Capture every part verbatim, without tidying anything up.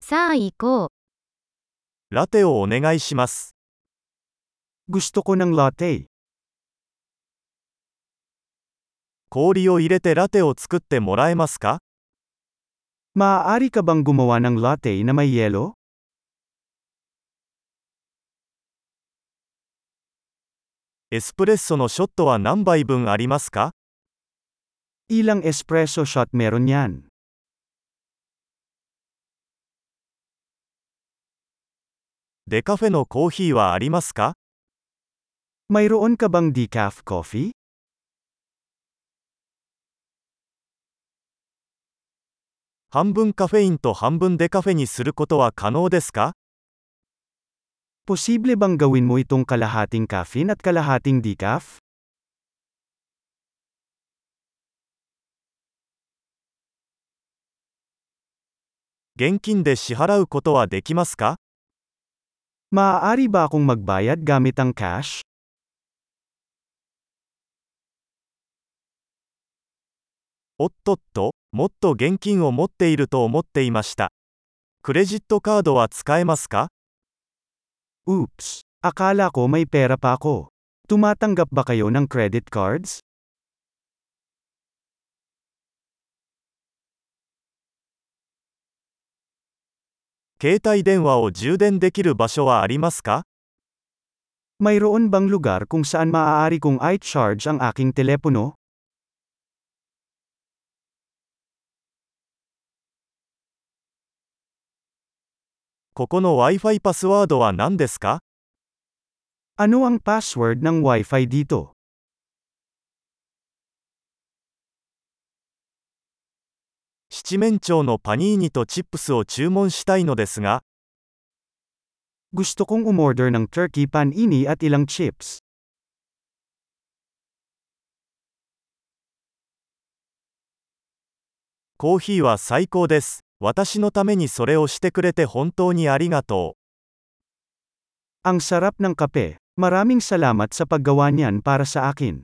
さあ行こう。 ラテをお願いします。 Gusto ko ng latte. 氷を入れてラテを作ってもらえますか？ Maaari ka bang gumawa ng latte na may yelo? エスプレッソのショットは何杯分ありますか？ Ilang espresso shot meron yan? デカフェのコーヒーはありますか？ Mayroon ka bang decaf coffee? 半分カフェインと半分デカフェにすることは可能ですか？ Posible bang gawin mo itong kalahating caffeine at kalahating decaf? 現金で支払うことはできますか？ Maaari ba akong magbayad gamit ang cash? おっとっと、もっと現金を持っていると思っていました。クレジットカードは使えますか？ Oops! Akala ko may pera pa ako. Tumatanggap ba kayo ng credit cards? 携帯電話を充電できる場所はありますか？ Mayroon bang lugar kung saan maaari kong i-charge ang aking telepono? ここの Wi-Fi パスワードは何ですか？ Ano ang password ng Wi-Fi dito? 七面鳥のパニーニとチップスを注文したいのですが、 Gusto kong umorder ng turkey panini at ilang chips. コーヒーは最高です。私のためにそれをしてくれて本当にありがとう。 Ang sarap ng kape. Maraming salamat sa paggawa niyan para sa akin.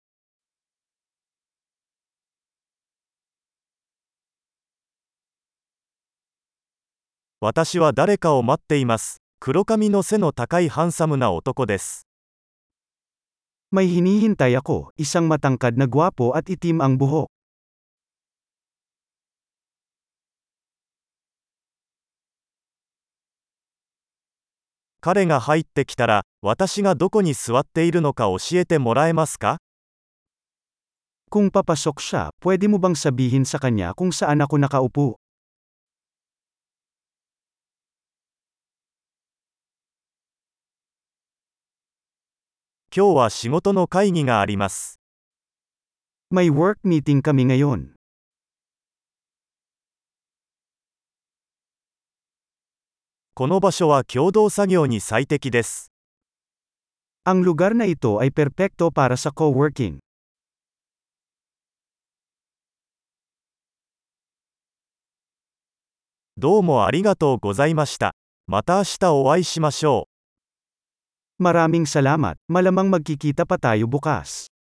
私は誰かを待っています。黒髪の背の高いハンサムな男です。 May hinihintay ako, isang matangkad na gwapo at itim ang buhok. 彼が入ってきたら、私がどこに座っているのか教えてもらえますか？ Kung papasok siya, pwede mo bang sabihin sa kanya kung saan ako nakaupo? 今日は仕事の会議があります。 May work meeting kami ngayon. この場所は共同作業に最適です。 Ang lugar na ito ay perpekto para sa co-working. どうもありがとうございました。また明日お会いしましょう。 Maraming salamat, malamang magkikita pa tayo bukas.